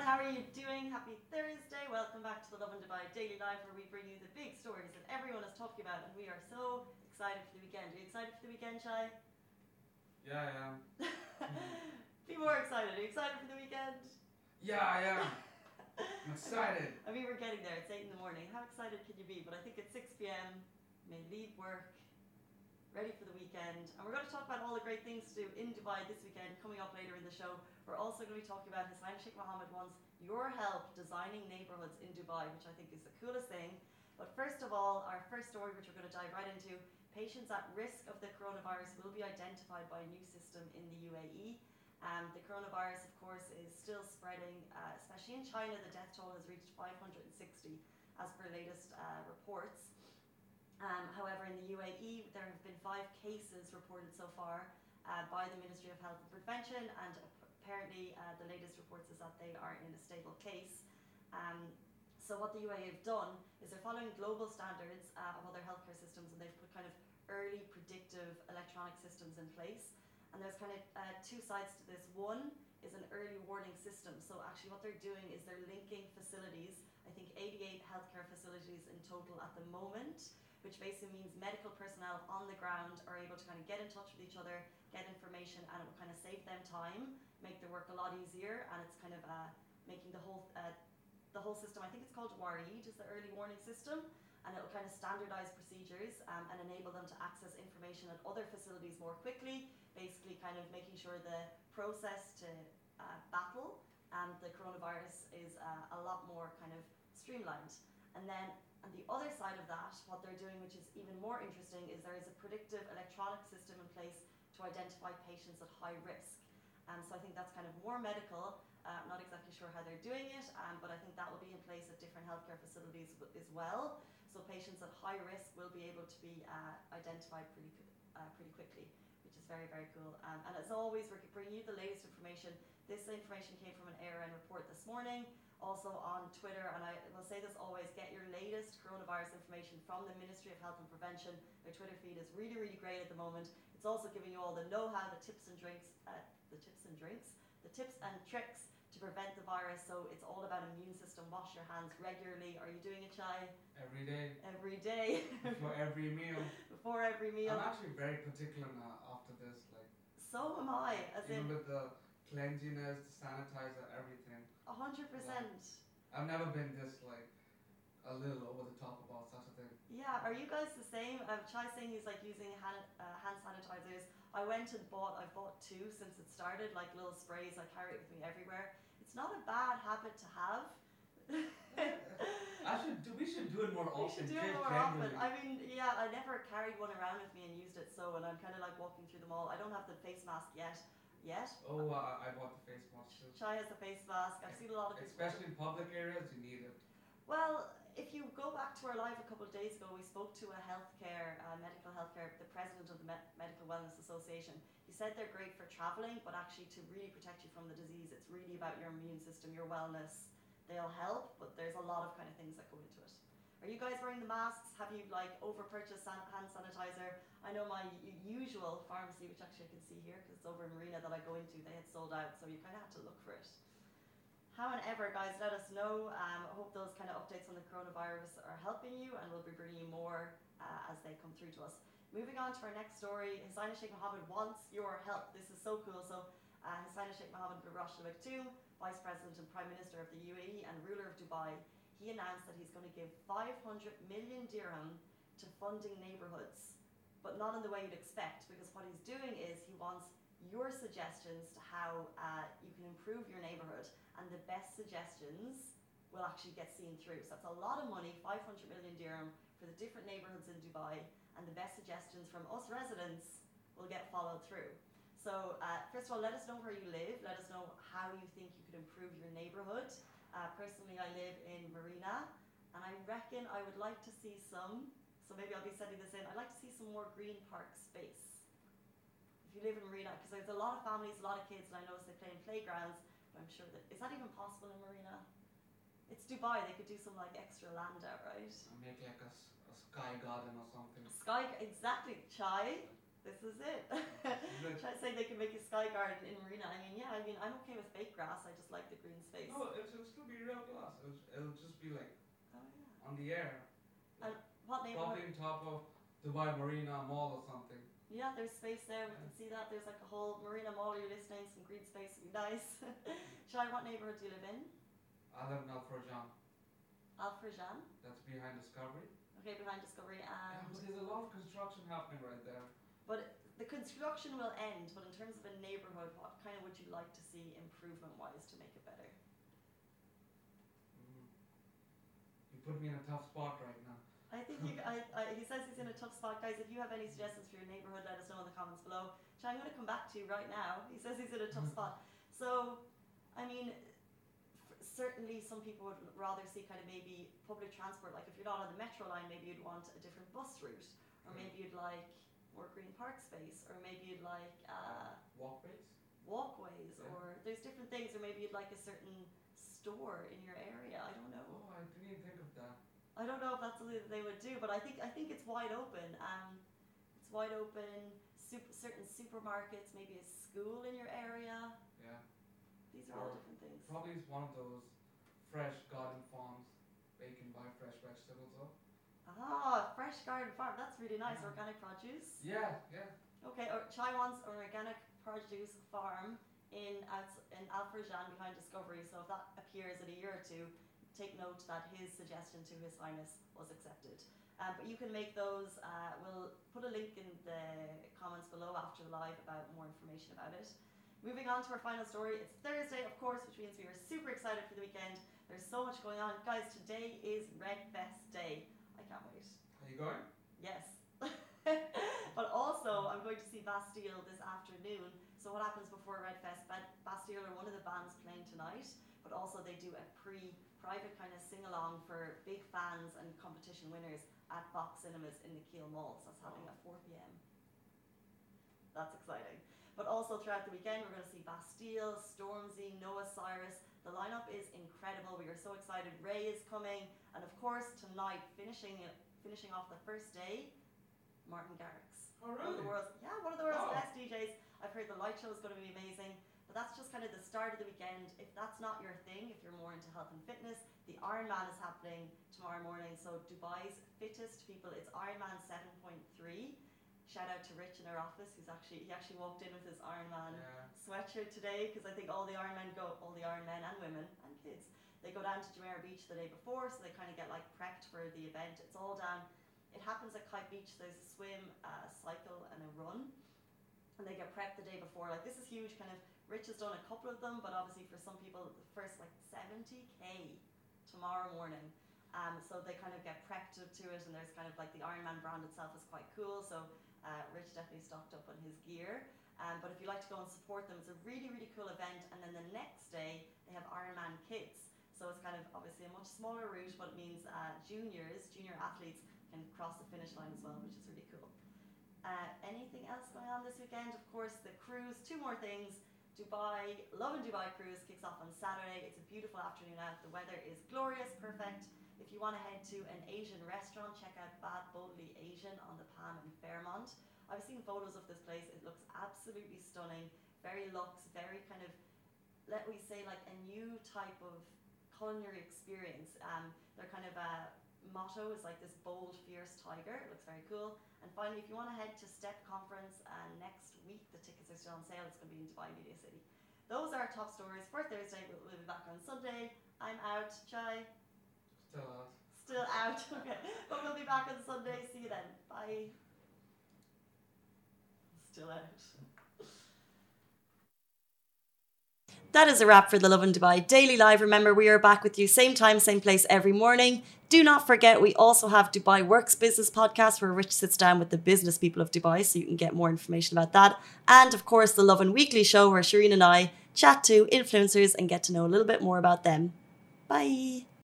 how are you doing? Happy Thursday. Welcome back to the Love and Dubai Daily Live, where we bring you the big stories that everyone is talking about, and we are so excited for the weekend. Are you excited for the weekend, Chai? Yeah, I am. Be more excited. Are you excited for the weekend? Yeah, I am. I'm excited. I mean, we're getting there. It's 8 in the morning. How excited can you be? But I think it's 6 p.m. May leave work, ready for the weekend. And we're going to talk about all the great things to do in Dubai this weekend, coming up later in the show. We're also going to be talking about His Highness Sheikh Mohammed wants your help designing neighborhoods in Dubai, which I think is the coolest thing. But first of all, our first story, which we're going to dive right into, patients at risk of the coronavirus will be identified by a new system in the UAE. The coronavirus, of course, is still spreading, especially in China. The death toll has reached 560 as per latest reports. However, in the UAE, there have been 5 cases reported so far by the Ministry of Health and Prevention, and apparently the latest reports is that they are in a stable case. So what the UAE have done is they're following global standards of other healthcare systems, and they've put kind of early predictive electronic systems in place. And there's kind of 2 sides to this. One is an early warning system. So actually what they're doing is they're linking facilities, I think 88 healthcare facilities in total at the moment, which basically means medical personnel on the ground are able to kind of get in touch with each other, get information, and it will kind of save them time, make their work a lot easier, and it's kind of making the whole system, I think it's called WAREED, is the early warning system, and it will kind of standardize procedures and enable them to access information at other facilities more quickly, basically kind of making sure the process to battle the coronavirus is a lot more kind of streamlined. And then on the other side of that, what they're doing, which is even more interesting, is there is a predictive electronic system in place to identify patients at high risk. So I think that's kind of more medical. Not exactly sure how they're doing it, but I think that will be in place at different healthcare facilities as well. So patients at high risk will be able to be identified pretty quickly, which is very, very cool. And as always, we're bringing you the latest information. This information came from an ARN report this morning, also on Twitter, and I will say this always, get your latest coronavirus information from the Ministry of Health and Prevention. Their Twitter feed is really, really great at the moment. It's also giving you all the know-how, the tips and tricks to prevent the virus. So it's all about immune system. Wash your hands regularly. Are you doing it, Chai? Every day. Every day. Before every meal. Before every meal. I'm actually very particular now after this. Like. So am I. Even with the cleanliness, the sanitizer, everything. 100%. I've never been this like a little over the top about such a thing. Yeah, are you guys the same? Chai's saying he's like using hand sanitizers. I bought 2 since it started, like little sprays. I carry it with me everywhere. It's not a bad habit to have. We should do it more often. We should do it more often. I mean, yeah, I never carried one around with me and used it, and I'm kind of like walking through the mall. I don't have the face mask yet. Oh, I bought the face mask too. Chai has the face mask. I've seen a lot of people. Especially in public areas, you need it. Well, if you go back to our live a couple of days ago, we spoke to medical healthcare, the president of the Medical Wellness Association. He said they're great for traveling, but actually to really protect you from the disease, it's really about your immune system, your wellness. They'll help, but there's a lot of kind of things that go into it. Are you guys wearing the masks? Have you like over-purchased hand sanitizer? I know my usual pharmacy, which actually I can see here because it's over in Marina that I go into, they had sold out, so you kind of had to look for it. However, guys, let us know. I hope those kind of updates on the coronavirus are helping you, and we'll be bringing you more as they come through to us. Moving on to our next story, His Highness Sheikh Mohammed wants your help. This is so cool. So His Highness Sheikh Mohammed bin Rashid Al Maktoum, Vice President and Prime Minister of the UAE and ruler of Dubai, he announced that he's going to give 500 million dirham to funding neighborhoods, but not in the way you'd expect, because what he's doing is he wants your suggestions to how you can improve your neighborhood, and the best suggestions will actually get seen through. So that's a lot of money, 500 million dirham for the different neighborhoods in Dubai, and the best suggestions from us residents will get followed through. So first of all, let us know where you live. Let us know how you think you could improve your neighborhood. Personally, I live in Marina, and I reckon I would like to see so maybe I'll be sending this in, I'd like to see some more green park space. If you live in Marina, because there's a lot of families, a lot of kids, and I notice they play in playgrounds, but I'm sure is that even possible in Marina? It's Dubai, they could do some like extra land out, right? Make like a sky garden or something. Exactly, Chai. This is it. Good. Try saying they can make a sky garden in Marina. I mean, yeah, I mean, I'm okay with fake grass. I just like the green space. No, it'll still be real glass. It'll just be like Oh, yeah. on the air. And what neighborhood? Probably on top of Dubai Marina Mall or something. Yeah, there's space there. We Yeah. can see that. There's like a whole Marina Mall. You're listening. Some green space would be nice. Shai, what neighborhood do you live in? I live in Al Farjan. Al Farjan. That's behind Discovery. Okay, behind Discovery. Yeah, but there's a lot of construction happening right there. But the construction will end. But in terms of a neighborhood, what kind of would you like to see improvement-wise to make it better? You put me in a tough spot right now. I think he says he's in a tough spot. Guys, if you have any suggestions for your neighborhood, let us know in the comments below. Shai, I'm going to come back to you right now. He says he's in a tough spot. So, I mean, certainly some people would rather see kind of maybe public transport. Like if you're not on the metro line, maybe you'd want a different bus route. Or maybe you'd like more green park space. Or maybe you'd like Walkways? walkways. Yeah. Or there's different things. Or maybe you'd like a certain store in your area. I don't know. Oh, I didn't even think of that. I don't know if that's something that they would do, but I think it's wide open. It's wide open. Certain supermarkets, maybe a school in your area. Yeah. These are all Or different things. Probably it's one of those fresh garden farms where you can buy fresh vegetables up. Ah, fresh garden farm. That's really nice. Yeah. Organic produce. Yeah, yeah. Okay. Or Chai wants an organic produce farm in Al Farjan behind Discovery. So if that appears in a year or two, take note that his suggestion to His Highness was accepted. But you can make those. We'll put a link in the comments below after the live about more information about it. Moving on to our final story. It's Thursday, of course, which means we are super excited for the weekend. There's so much going on. Guys, today is Red Fest Day. I can't wait. Are you going? Yes. But also, I'm going to see Bastille this afternoon. So what happens before Red Fest? Bastille are one of the bands playing tonight, but also they do a private kind of sing-along for big fans and competition winners at Fox Cinemas in the Kiel Mall. So that's happening at 4 p.m. That's exciting. But also throughout the weekend, we're going to see Bastille, Stormzy, Noah Cyrus. The lineup is incredible. We are so excited. Ray is coming. And of course, tonight, finishing off the first day, Martin Garrix. Oh, One of really? the world's Wow. best DJs. I've heard the light show is going to be amazing. But that's just kind of the start of the weekend. If that's not your thing, if you're more into health and fitness, the Ironman is happening tomorrow morning. So Dubai's fittest people, it's Ironman 7.3. Shout out to Rich in our office, he actually walked in with his Ironman sweatshirt today, because I think all the Ironmen and women and kids, they go down to Jumeirah Beach the day before, so they kind of get like prepped for the event. It's all down. It happens at Kite Beach. There's a swim, a cycle, and a run, and they get prepped the day before. Like this is huge. Kind of Rich has done a couple of them, but obviously for some people, the first like 70k tomorrow morning. So they kind of get prepped to it, and there's kind of like the Ironman brand itself is quite cool. So Rich definitely stocked up on his gear. But if you like to go and support them, it's a really, really cool event. And then the next day, they have Ironman Kids. So it's kind of obviously a much smaller route, but it means junior athletes can cross the finish line as well, which is really cool. Anything else going on this weekend? Of course, the cruise. Two more things. Lovin Dubai cruise kicks off on Saturday. It's a beautiful afternoon out. The weather is glorious, perfect. If you want to head to an Asian restaurant, check out Bad Boldly Asian on the Palm in Fairmont. I've seen photos of this place. It looks absolutely stunning. Very luxe, very kind of, let me say, like a new type of culinary experience. Their kind of motto is like this bold, fierce tiger. It looks very cool. And finally, if you want to head to STEP conference next week, the tickets are still on sale. It's going to be in Dubai Media City. Those are our top stories for Thursday. We'll be back on Sunday. I'm out. Chai? Still out. Still out. Okay. But we'll be back on Sunday. See you then. Bye. Still out. That is a wrap for the Lovin Dubai Daily Live. Remember, we are back with you same time, same place every morning. Do not forget, we also have Dubai Works Business Podcast, where Rich sits down with the business people of Dubai, so you can get more information about that. And of course, the Lovin Weekly Show, where Shireen and I chat to influencers and get to know a little bit more about them. Bye.